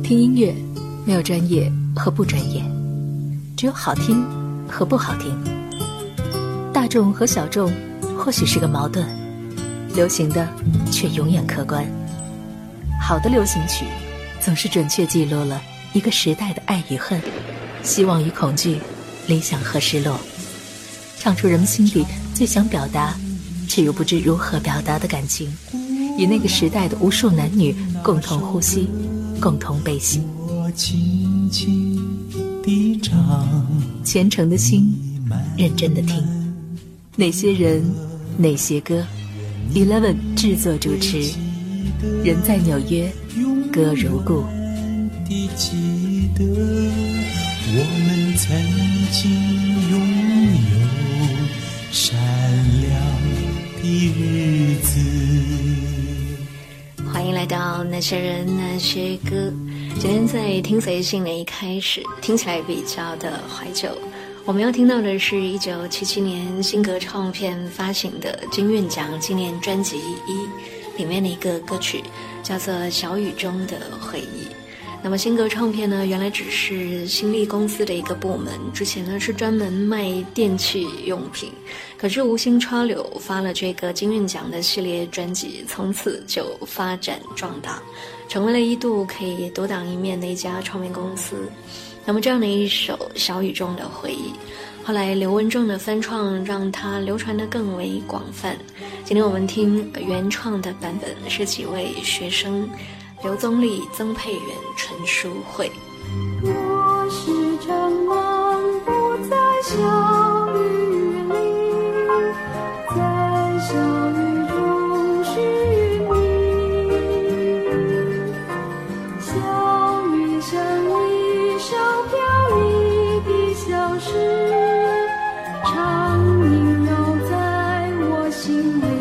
听音乐没有专业和不专业，只有好听和不好听。大众和小众或许是个矛盾，流行的却永远客观。好的流行曲总是准确记录了一个时代的爱与恨，希望与恐惧，理想和失落，唱出人们心里最想表达却又不知如何表达的感情，与那个时代的无数男女共同呼吸，共同悲喜。 我轻轻地唱， 虔诚的心，认真的听。哪些人，哪些歌 ，Eleven 制作主持，人在纽约，歌如故。 地记得我们曾经拥有闪亮的日子。 欢迎来到那些人那些歌。今天在听随性的一开始，听起来比较的怀旧。我们要听到的是1977年新格唱片发行的金韵奖纪念专辑1里面的一个歌曲，叫做《小雨中的回忆》。那么新格唱片呢，原来只是新力公司的一个部门，之前呢是专门卖电器用品，可是无心插柳发了这个金韵奖的系列专辑，从此就发展壮大，成为了一度可以独当一面的一家唱片公司。那么这样的一首《小雨中的回忆》，后来刘文正的翻唱让它流传得更为广泛。今天我们听原创的版本是几位学生，刘宗立、曾佩元、陈淑慧。 我时常漫步在小雨里，在小雨中寻觅，小雨像一首飘逸的小诗，常萦绕在我心里。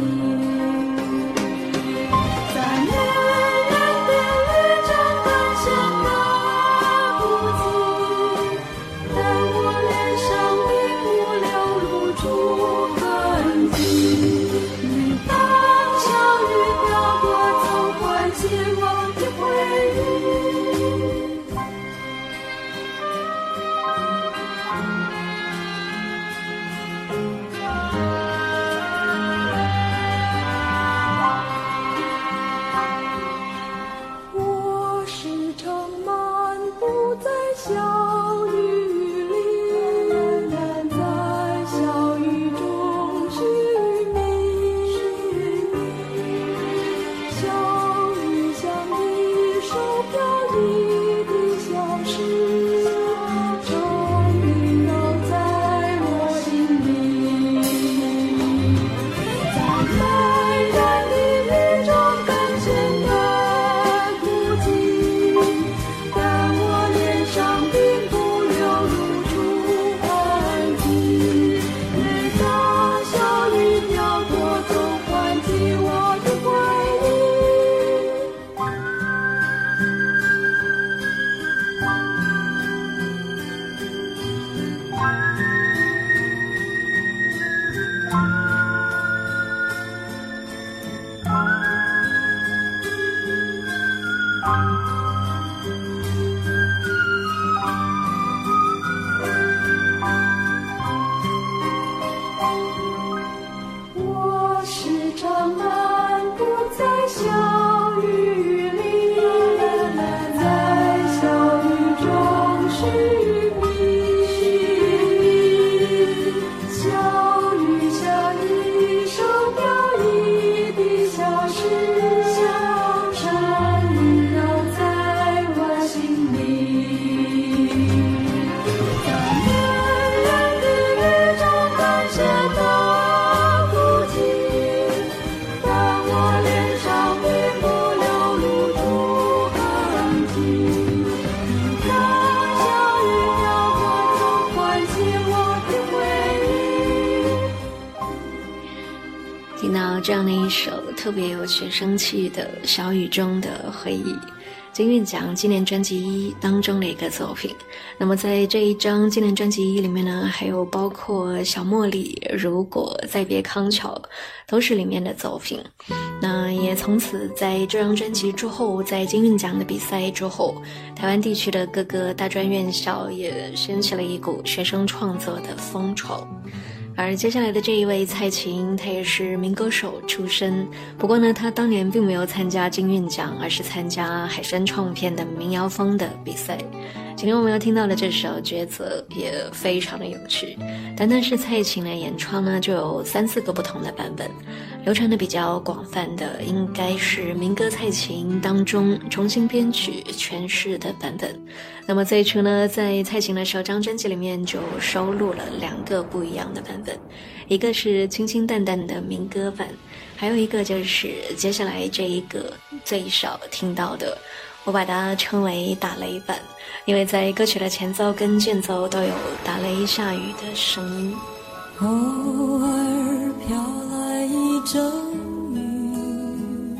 这样的一首特别有学生气的小雨中的回忆， 金韵奖纪念专辑1当中的一个作品。那么在这一张纪念专辑1里面呢，还有包括小茉莉、如果、再别康桥，都是里面的作品。那也从此在这张专辑之后，在金韵奖的比赛之后，台湾地区的各个大专院校也掀起了一股学生创作的风潮。而接下来的这一位蔡琴，她也是民歌手出身，不过呢，她当年并没有参加金韵奖，而是参加海山唱片的民谣风的比赛。今天我们要听到的这首《抉择》也非常的有趣，单单是蔡琴来演唱呢，就有3-4个不同的版本。流传的比较广泛的应该是民歌蔡琴当中重新编曲诠释的版本。那么最初呢，在蔡琴的首张专辑里面就收录了2个不一样的版本，一个是清清淡淡的民歌版，还有一个就是接下来这一个最少听到的，我把它称为打雷版，因为在歌曲的前奏跟间奏都有打雷下雨的声音。 偶尔飘来一阵雨，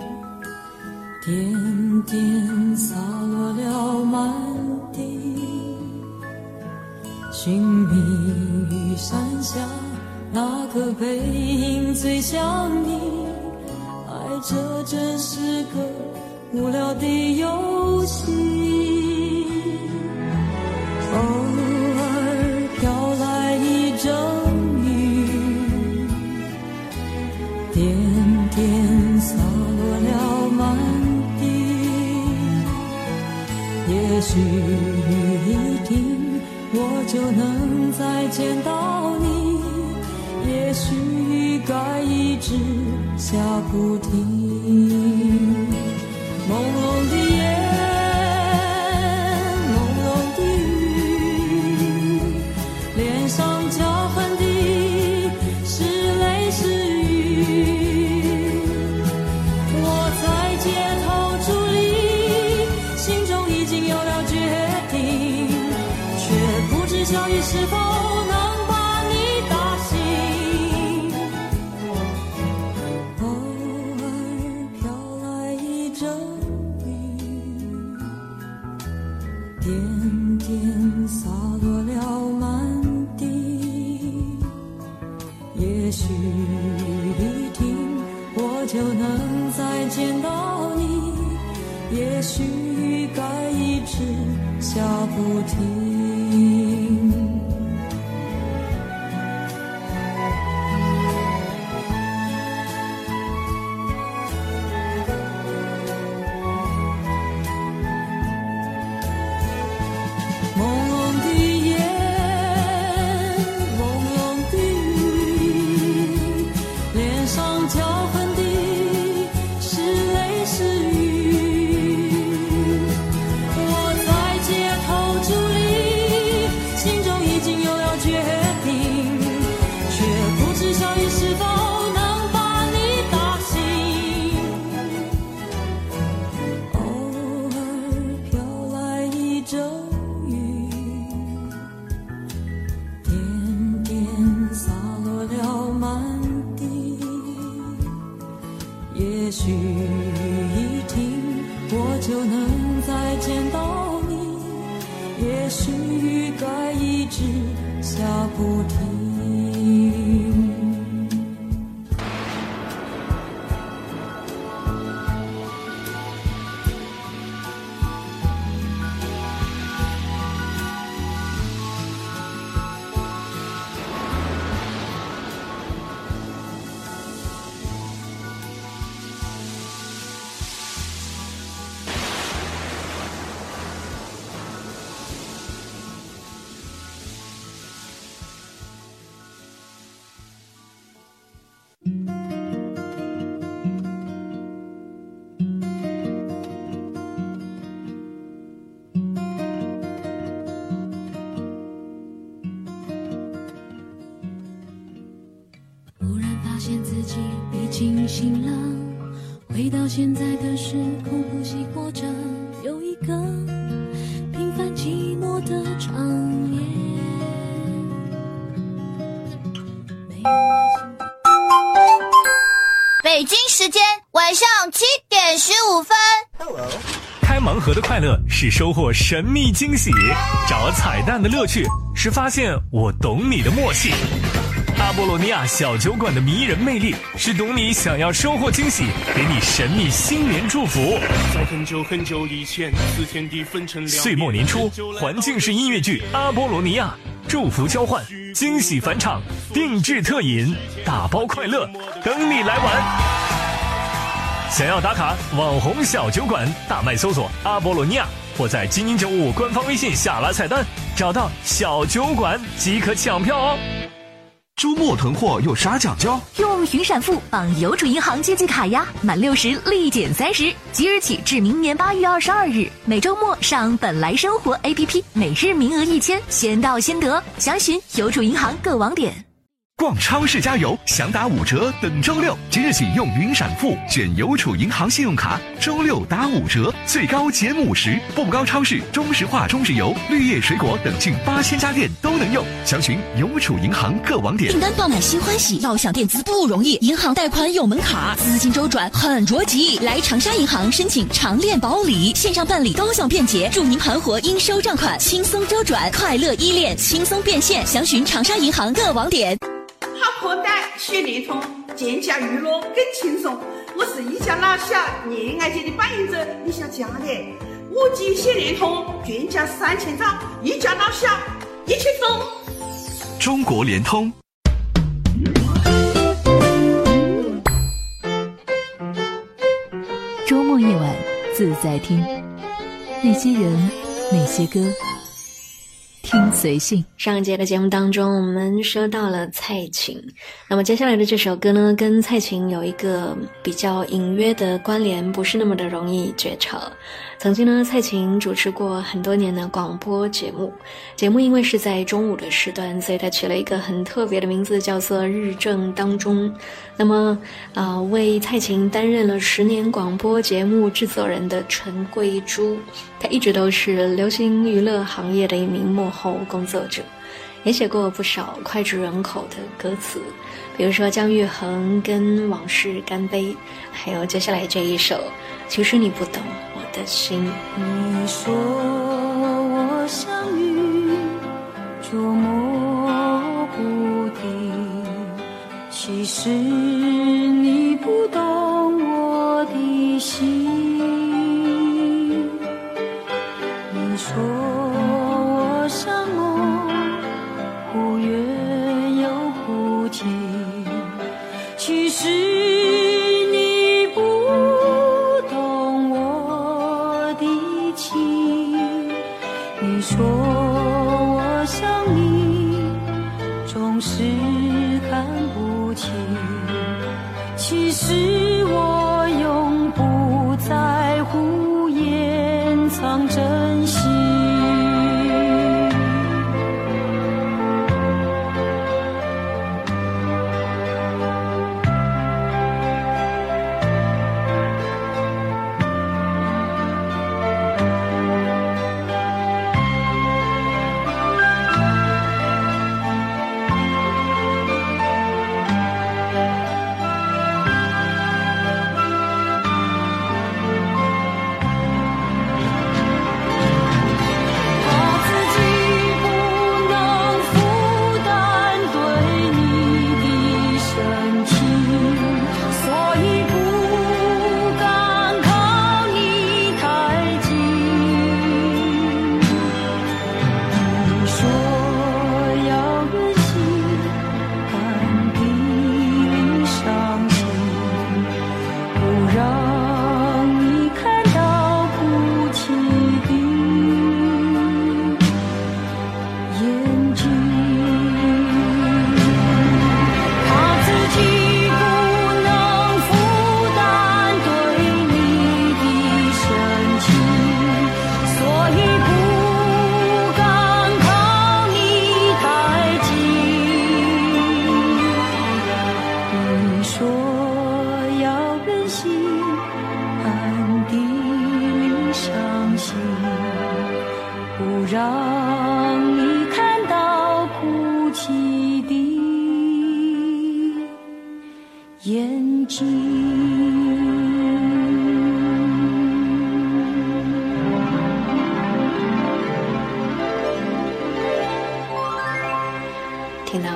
点点洒落了满地，寻觅雨伞下那个背影最像你，爱这真是个无聊的游戏。偶尔飘来一阵雨，点点洒落了满地，也许雨一停，我就能再见到你，也许雨该一直下不停。朦胧的夜，朦胧的雨，脸上交痕的是泪是雨。我在街头伫立，心中已经有了决定，却不知小雨是否能把你打醒。偶尔飘来一阵点点洒落了满地，也许雨停，我就能再见到你，也许雨该一直下不停。也许雨一停，我就能再见到你，也许雨该一直下不停。 发现自己被惊醒了，回到现在的时空，呼吸活着，有一个平凡寂寞的场面。 北京时间晚上7点15分。 开盲盒的快乐是收获神秘惊喜，找彩蛋的乐趣是发现我懂你的默契。阿波罗尼亚小酒馆的迷人魅力是懂你想要收获惊喜，给你神秘新年祝福。 在很久很久以前，四天地分成两。 岁末年初，环境式音乐剧《阿波罗尼亚》，祝福交换，惊喜返场，定制特饮，打包快乐，等你来玩。想要打卡网红小酒馆，大麦搜索阿波罗尼亚，或在精英95官方微信下拉菜单，找到小酒馆即可抢票哦。 周末囤货有啥讲究？ 用云闪付绑邮储银行借记卡呀，满60立减30，即日起至明年8月22日，每周末上本来生活 APP， 每日名额1000，先到先得。详询邮储银行各网点。 逛超市加油，想打5折等周6，即日起用云闪付选邮储银行信用卡，周6打5折，最高减50%。步步高超市、中石化、中石油、绿叶水果等近8000家店都能用，详询邮储银行各网点。 订单爆满新欢喜，要享电资不容易，银行贷款有门槛，资金周转很着急。来长沙银行申请长链保理，线上办理高效便捷，助您盘活应收账款，轻松周转，快乐依恋，轻松变现。详询长沙银行各网点。 好口袋学联通，健驾娱乐更轻松。我是一家老小恋爱节的扮演者李小佳的，5G 学联通，全家3000兆，一家老小一起走。 中国联通。 周末夜晚自在听，那些人，那些歌，听随性。 上一节的节目当中，我们说到了蔡琴，那么接下来的这首歌呢，跟蔡琴有一个比较隐约的关联，不是那么的容易觉察。曾经呢，蔡琴主持过很多年的广播节目，因为是在中午的时段，所以她取了一个很特别的名字，叫做日正当中。那么为蔡琴担任了10年广播节目制作人的陈桂珠，她一直都是流行娱乐行业的一名幕后工作者，也写过不少脍炙人口的歌词，比如说姜育恒跟往事干杯，还有接下来这一首其实你不懂我的心。 你说我像雨捉摸不定，其实你不懂我的心。你说我像梦，忽远又忽近，其实你不懂我的情。你说我像你，总是看不清，其实我永不在乎掩藏真心。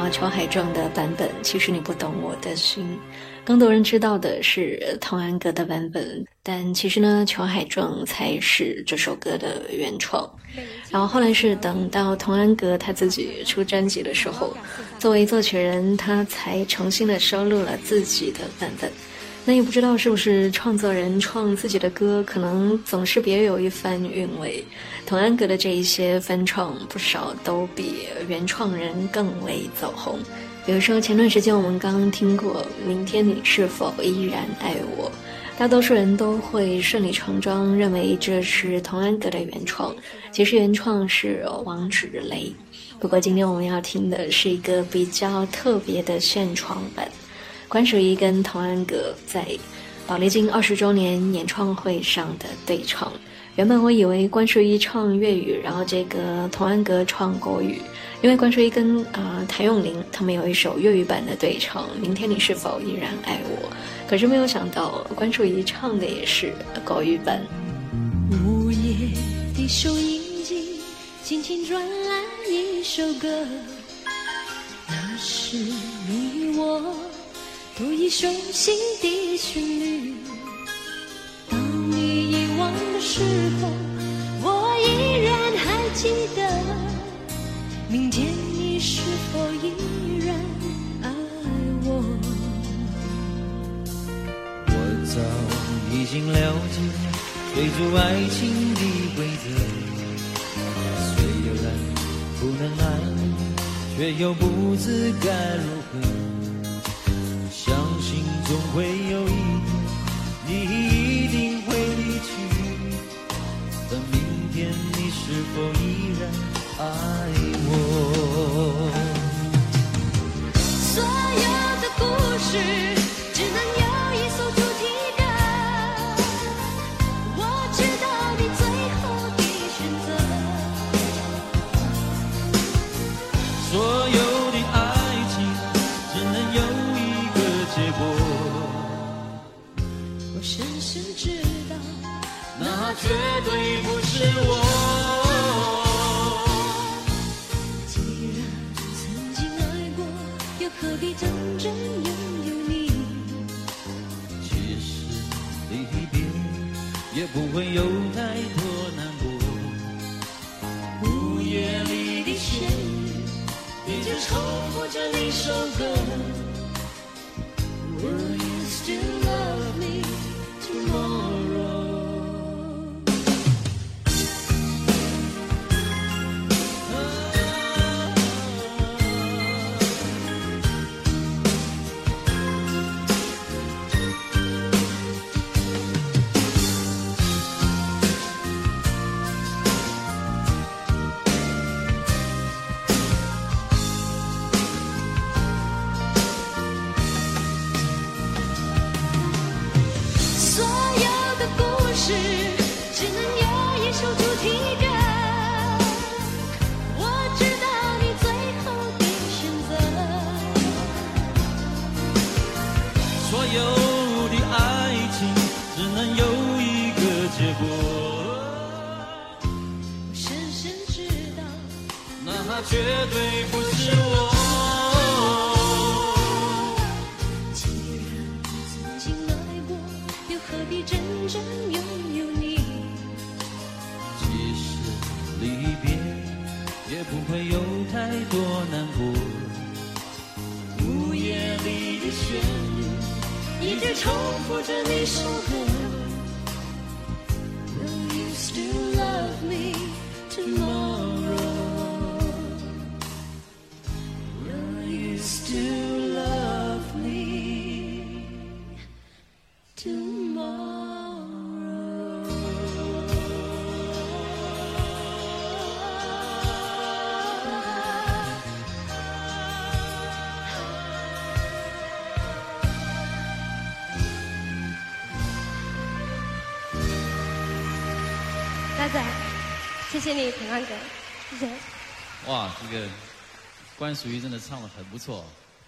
到裘海正的版本，其实你不懂我的心。更多人知道的是童安格的版本，但其实呢，裘海正才是这首歌的原创。然后后来是等到童安格他自己出专辑的时候，作为作曲人，他才重新的收录了自己的版本。那也不知道是不是创作人创自己的歌，可能总是别有一番韵味。童安格的这一些翻唱，不少都比原创人更为走红。比如说前段时间我们刚刚听过《明天你是否依然爱我》，大多数人都会顺理成章认为这是童安格的原创，其实原创是王芷雷。不过今天我们要听的是一个比较特别的现创版，关淑怡跟童安格在宝丽金20周年演唱会上的对唱。原本我以为关淑怡唱粤语，然后这个童安格唱国语，因为关淑怡跟谭咏麟他们有一首粤语版的对唱《明天你是否依然爱我》，可是没有想到关淑怡唱的也是国语版。 午夜的收音机轻轻转来一首歌，那是你我都已熟悉的旋律。当你遗忘的时候，我依然还记得，明天你是否依然爱我。 我早已经了解追逐爱情的规则，虽然不能爱你，却又不知该如何。相信总会有一天，你一定会离去，但明天你是否依然爱我？ 所有的故事只能有一首主题歌，我知道你最后的选择。 所有的爱情只能有一个结果， 我深深知道， 那绝对不是我。 既然曾经爱过，又何必真正拥有你？ 其实离别也不会有太多难过，午夜里的旋律一直重复着那首歌。Will you still love me tomorrow？绝对不是我。 既然曾经爱过，又何必真正拥有你？ 即使离别，也不会有太多难过。午夜里的旋律，一直重复着那首歌。Will you still love me tomorrow？Still love me tomorrow。 大仔，谢谢你，平安哥，谢谢。 哇，这个关淑怡真的唱得很不错。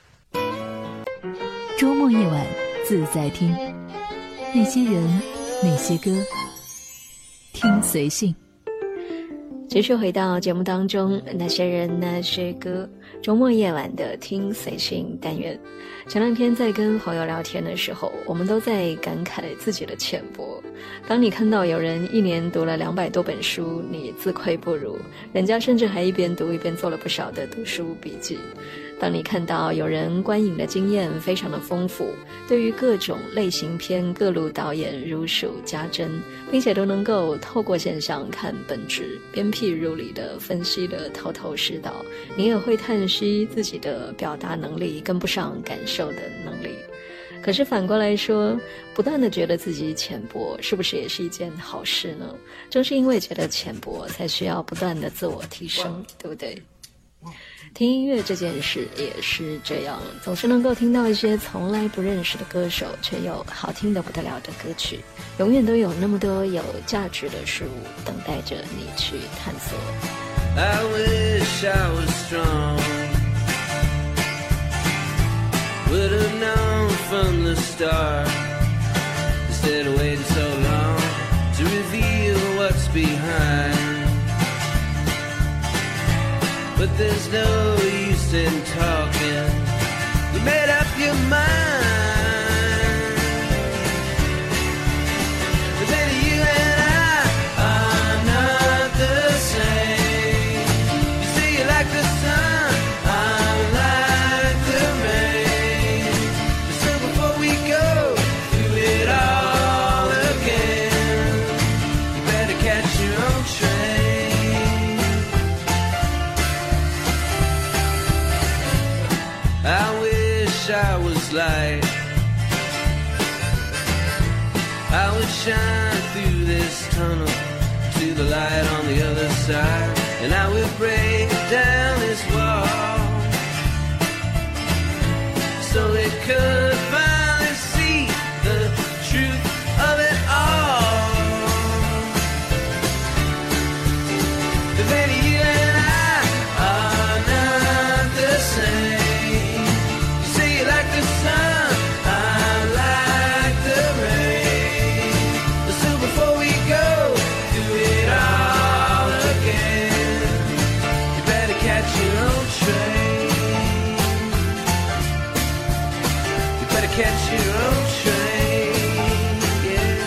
周末夜晚自在听，那些人，那些歌，听随性。 继续回到节目当中，那些人，那些歌。 周末夜晚的听随性单元。前两天在跟朋友聊天的时候，我们都在感慨自己的浅薄。当你看到有人一年读了200多本书，你自愧不如，人家甚至还一边读一边做了不少的读书笔记。当你看到有人观影的经验非常的丰富，对于各种类型片各路导演如数家珍，并且都能够透过现象看本质，鞭辟入里的分析的头头是道，你也会叹息自己的表达能力跟不上感受的能力。可是反过来说，不断的觉得自己浅薄，是不是也是一件好事呢？正是因为觉得浅薄，才需要不断的自我提升，对不对？听音乐这件事也是这样，总是能够听到一些从来不认识的歌手，却又好听得不得了的歌曲，永远都有那么多有价值的事物等待着你去探索。 I wish I was strong, would have known from the start, instead of waiting so long to reveal what's behind. But there's no use in talking, you made up your mind. But then you and I are not the same. You say you like the sun, I like the rain. So before we go through it all again, you better catch your own train. I wish I was light, I would shine through this tunnel to the light on the other side, and I would break down this wall so they could finally see the truth of it all. The lady you and I are not the same. Like the sun, I like the rain. So before we go through it all again, you better catch your own train. You better catch your own train, yeah.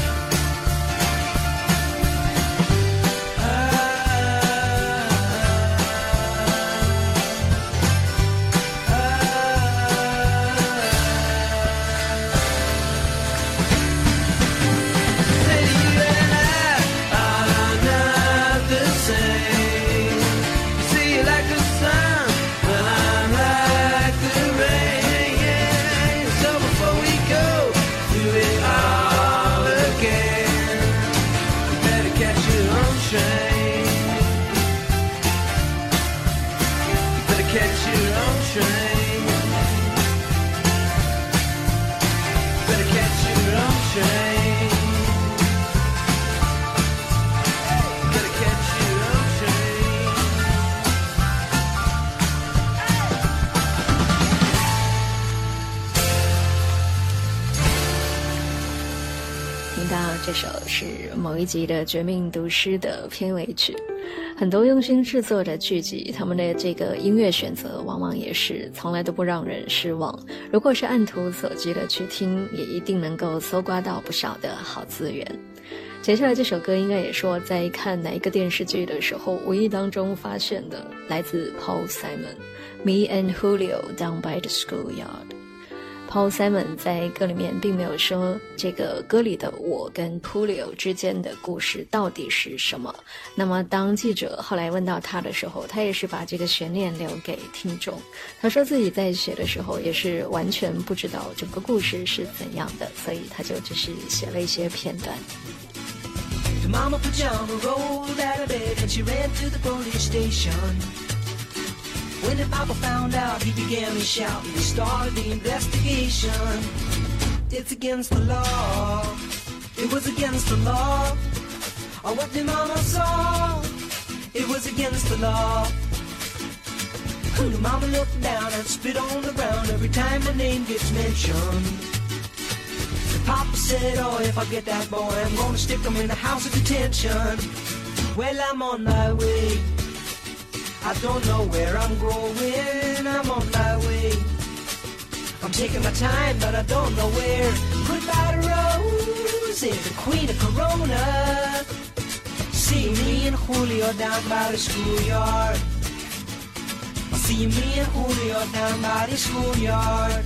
这首是某一集的《绝命毒师》的片尾曲。很多用心制作的剧集，他们的这个音乐选择往往也是从来都不让人失望。如果是按图索骥的去听，也一定能够搜刮到不少的好资源。接下来这首歌应该也是我在看哪一个电视剧的时候无意当中发现的，来自 Paul Simon，Me and Julio Down by the Schoolyard。Paul Simon 在歌里面并没有说这个歌里的我跟 Julio 之间的故事到底是什么。那么当记者后来问到他的时候，他也是把这个悬念留给听众。他说自己在写的时候也是完全不知道整个故事是怎样的，所以他就只是写了一些片段。 Mama pajama rolled out of bed and she ran to the police station.When the papa found out, he began to shout. He started the investigation. It's against the law. It was against the law. Oh, what the mama saw. It was against the law. The mama looked down and spit on the ground every time my name gets mentioned. The papa said, oh, if I get that boy, I'm gonna stick him in the house of detention. Well, I'm on my way. I don't know where I'm going, I'm on my way. I'm taking my time, but I don't know where. Goodbye to Rose, the queen of Corona. See me and Julio down by the schoolyard. See me and Julio down by the schoolyard.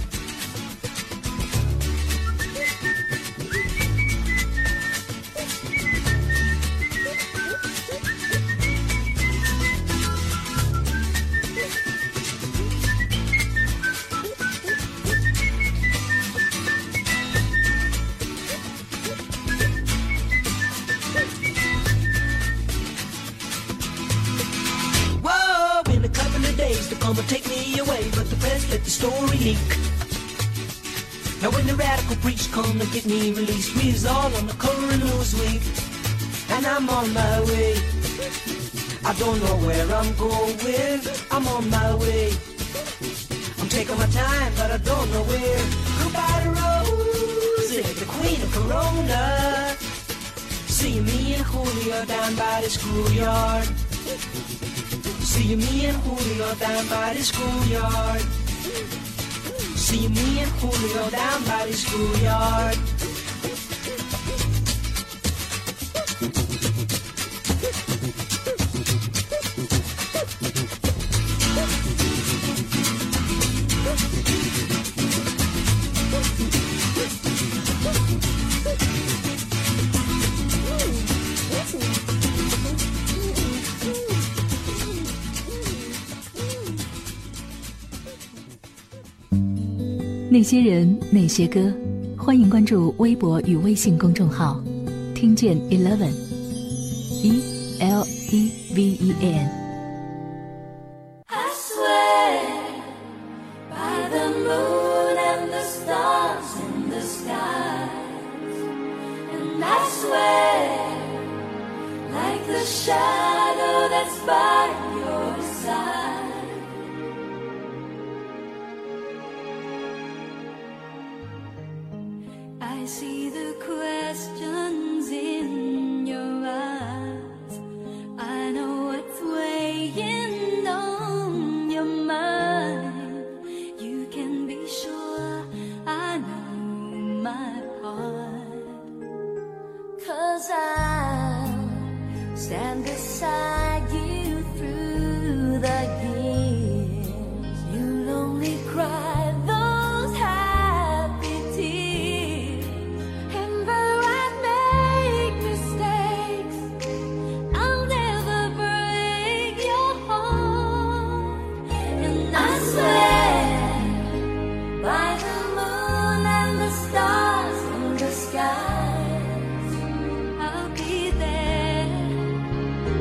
Come and take me away, but the press let the story leak. Now when the radical preach come to get me released, we is all on the cover of Newsweek, and I'm on my way. I don't know where I'm going, I'm on my way. I'm taking my time, but I don't know where. Goodbye to Rose, the queen of Corona. See me and Julio down by the schoolyard. See me and Julio down by the schoolyard. See me and Julio down by the schoolyard. 那些人，那些歌，欢迎关注微博与微信公众号，听见 Eleven ELEVEN。 I swear by the moon and the stars in the skies, and I swear like the shadow that's by your side. I see the questions in your eyes. I know what's weighing on your mind. You can be sure I know my part. 'Cause I'll stand beside you through the years. You'll only cry those happy tears. And though I make mistakes, I'll never break your heart. And I swear by the moon and the stars in the skies, I'll be there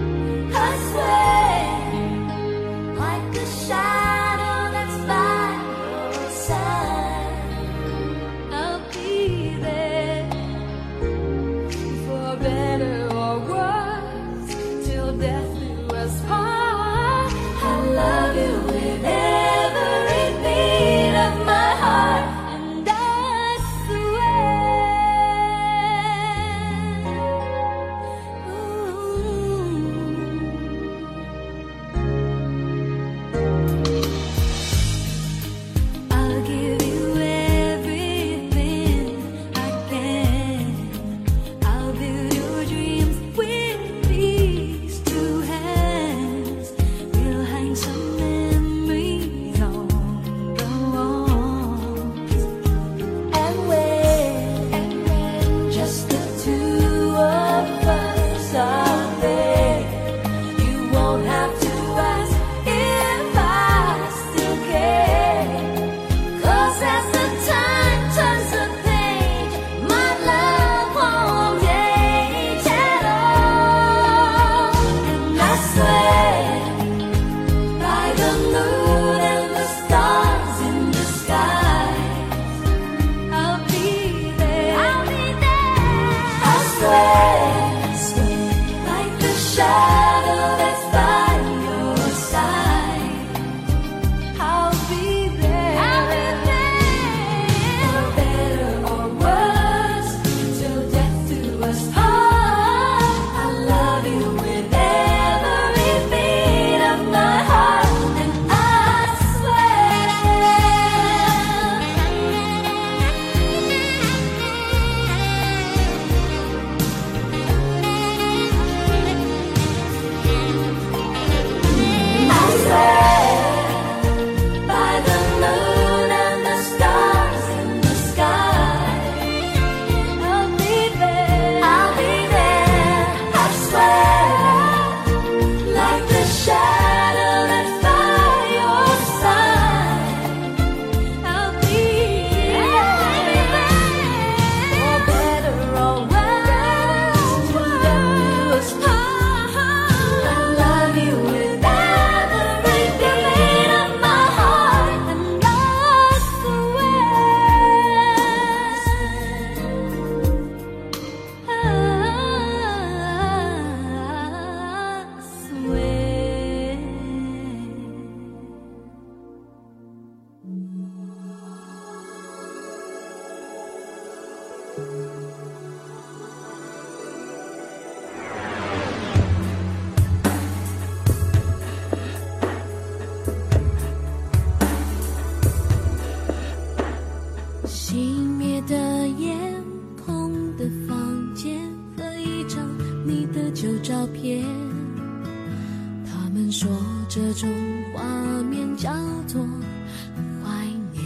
的旧照片，他们说这种画面叫做怀念。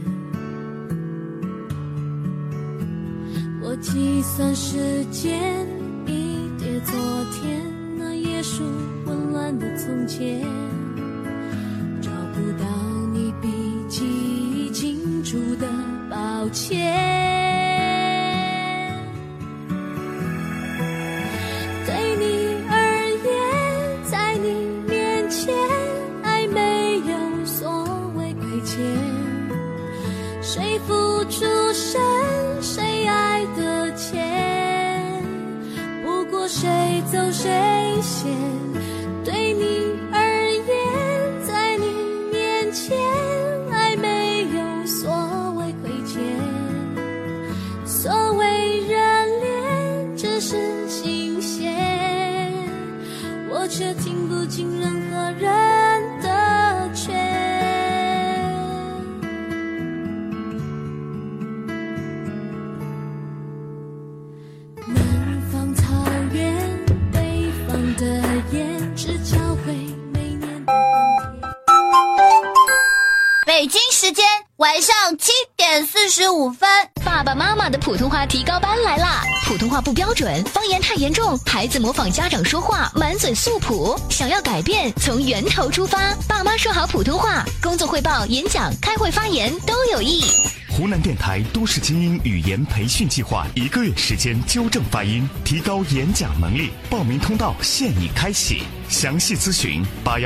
我计算时间，一叠昨天，那页数混乱的从前，找不到你笔记已清楚的抱歉。对你而言，在你面前，爱没有所谓亏欠，谁付出深，谁爱得浅，不过谁走谁先。对你而言，在你面前，爱没有所谓亏欠，所谓热恋只是新鲜，我却听不进任何人的劝。南方草原，北方的夜，只教会每年的冬天。 北京时间晚上7点45分，爸爸妈妈的普通话提高班来啦！普通话不标准，方言太严重，孩子模仿家长说话，满嘴素朴。想要改变，从源头出发，爸妈说好普通话，工作汇报、演讲、开会发言都有益。 湖南电台都市精英语言培训计划1个月时间纠正发音，提高演讲能力。报名通道现已开启，详细咨询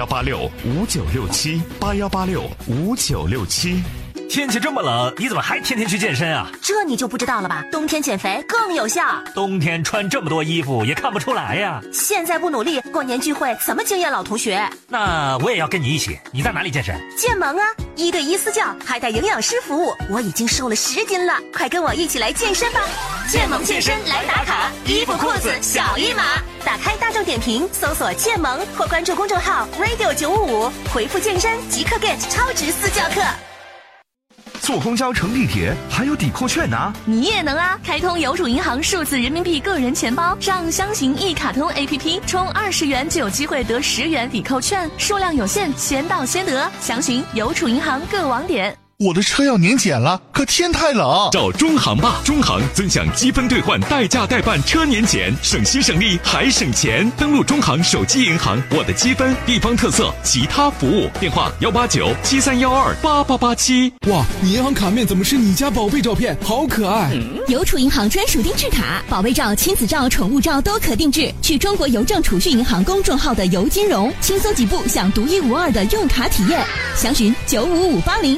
8186596781865967。 天气这么冷，你怎么还天天去健身啊？ 这你就不知道了吧？冬天减肥更有效。 冬天穿这么多衣服也看不出来呀。 现在不努力，过年聚会怎么惊艳老同学？ 那我也要跟你一起。你在哪里健身？ 健萌啊，1对1私教，还带营养师服务。我已经瘦了10斤了，快跟我一起来健身吧！ 健萌健身来打卡，衣服裤子小一码。 打开大众点评，搜索健萌或关注公众号 radio955，回复健身即可 get 超值私教课。 坐公交乘地铁还有抵扣券呢， 你也能啊！开通邮储银行数字人民币个人钱包，上箱型一卡通 APP， 充20元就有机会得10元抵扣券，数量有限，先到先得。详询邮储银行各网点。 我的车要年检了，可天太冷。 找中行吧，中行尊享积分兑换代驾代办车年检，省心省力还省钱。登录中行手机银行，我的积分、地方特色、其他服务，电话18973128887。 哇，你银行卡面怎么是你家宝贝照片？好可爱！ 邮储银行专属定制卡，宝贝照、亲子照、宠物照都可定制。去中国邮政储蓄银行公众号的邮金融，轻松几步享独一无二的用卡体验。详询95580。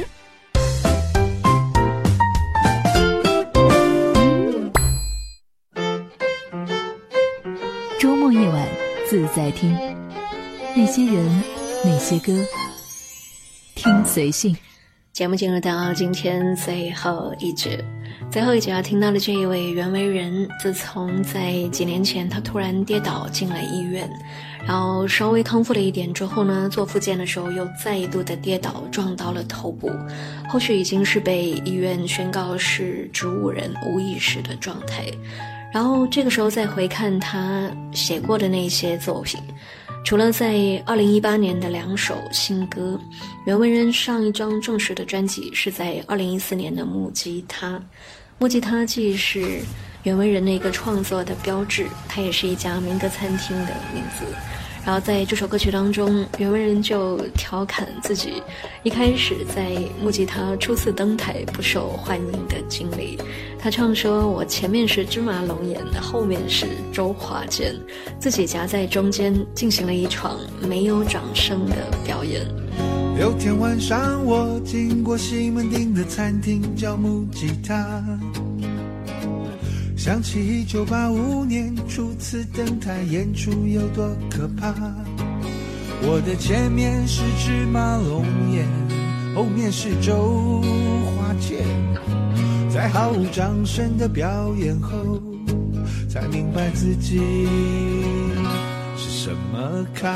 周末夜晚自在听，那些人，那些歌，听随性。 节目进入到今天最后一节要听到的这一位袁惟仁，自从在几年前他突然跌倒进了医院，然后稍微康复了一点之后呢，做复健的时候又再一度的跌倒，撞到了头部，后续已经是被医院宣告是植物人无意识的状态。然后这个时候再回看他写过的那些作品，除了在2018年的2首新歌，袁惟仁上一张正式的专辑是在2014年的木吉他。木吉他既是袁惟仁的一个创作的标志，它也是一家民歌餐厅的名字。然后在这首歌曲当中，袁惟仁就调侃自己一开始在木吉他初次登台不受欢迎的经历。他唱说，我前面是芝麻龙眼，后面是周华健，自己夹在中间进行了一场没有掌声的表演。 有天晚上我经过西门町的餐厅叫木吉他，想起1985年初次登台演出有多可怕。我的前面是芝麻龙眼，后面是周华健，在毫无掌声的表演后，才明白自己是什么咖。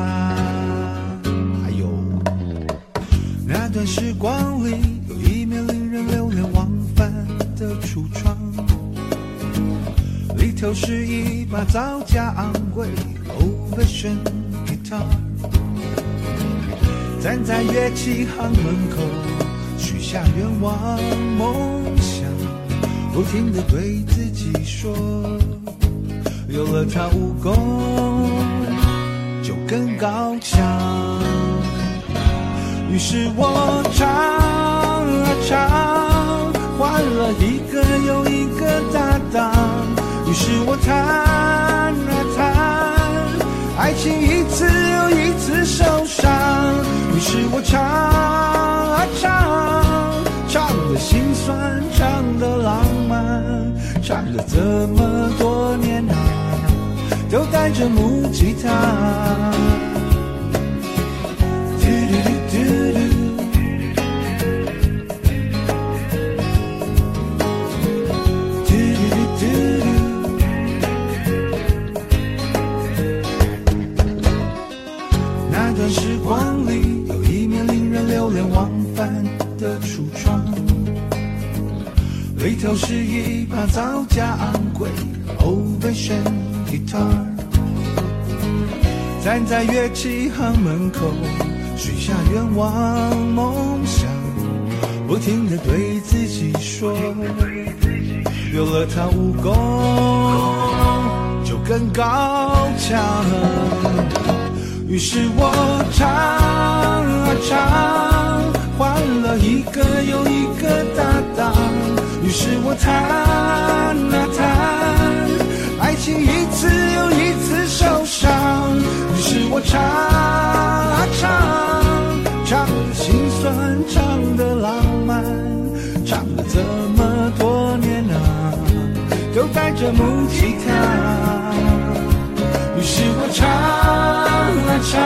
还有那段时光里，有一面令人流连忘返的橱窗，里头是一把造价昂贵 Old-fashioned guitar， 站在乐器行门口，许下愿望梦想，不停地对自己说，有了它武功就更高强。于是我唱啊唱，换了一个又一个搭档。于是我弹啊弹，爱情一次又一次受伤。于是我唱啊唱，唱得心酸，唱得浪漫，唱了这么多年啊，都带着木吉他。那段时光里，有一面令人流连忘返的橱窗，里头是一把造价昂贵 Old-fashioned guitar， 站在乐器行门口，许下愿望梦想，不停地对自己说，有了它武功就更高强。于是我唱啊唱，换了一个又一个搭档。于是我弹啊弹，爱情一次又一次受伤。于是我唱啊唱，唱得心酸，唱得浪漫，唱了这么多年啊，都带着木吉他。于是我唱啊唱，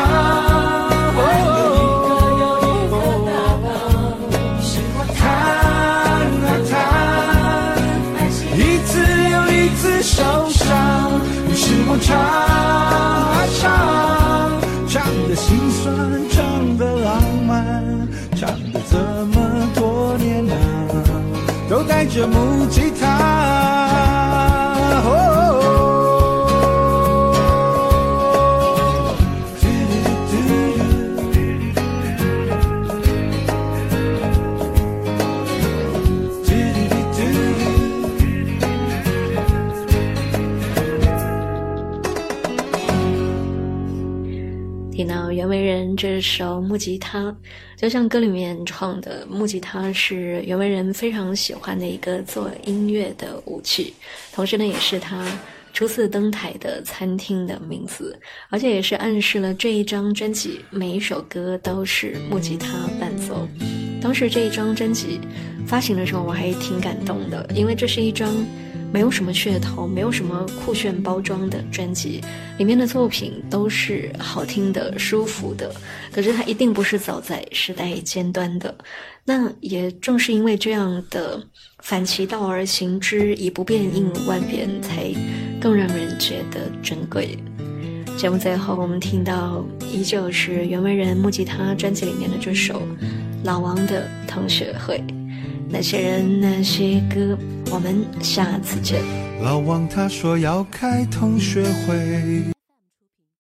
弹啊弹，一次又一次受伤。于是我唱啊唱，唱得心酸，唱得浪漫，唱得这么多年啊，都带着木吉他。 听到袁惟仁这首木吉他，就像歌里面唱的，木吉他是袁惟仁非常喜欢的一个做音乐的武器，同时呢也是他初次登台的餐厅的名字，而且也是暗示了这一张专辑每一首歌都是木吉他伴奏。当时这一张专辑发行的时候我还挺感动的，因为这是一张没有什么噱头，没有什么酷炫包装的专辑，里面的作品都是好听的、舒服的，可是它一定不是走在时代尖端的。那也正是因为这样的反其道而行之，以不变应万变，才更让人觉得珍贵。节目最后我们听到依旧是袁惟仁木吉他专辑里面的这首老王的同学会。那些人那些歌，我们下次见。 老王他说要开同学会。